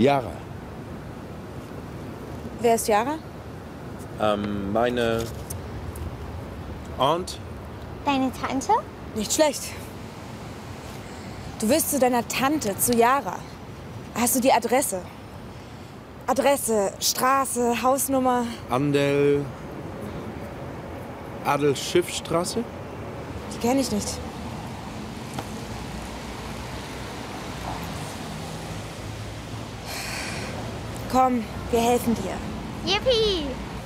Yara. Wer ist Yara? Meine Aunt. Deine Tante? Nicht schlecht. Du willst zu deiner Tante, zu Yara. Hast du die Adresse? Adresse, Straße, Hausnummer? Adelschiffstraße? Die kenne ich nicht. Komm, wir helfen dir. Yippie!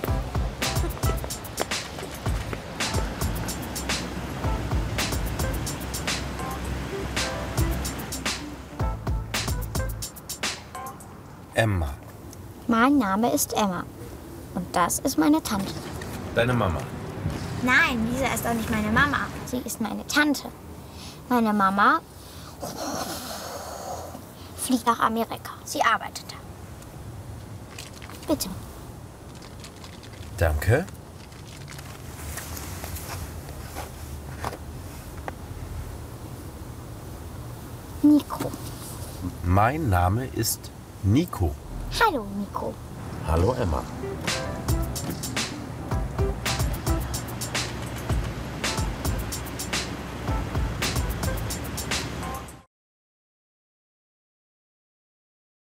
Emma. Mein Name ist Emma. Und das ist meine Tante. Deine Mama. Nein, Lisa ist auch nicht meine Mama. Sie ist meine Tante. Meine Mama fliegt nach Amerika. Sie arbeitet da. Bitte. Danke. Nico. Mein Name ist Nico. Hallo, Nico. Hallo, Emma.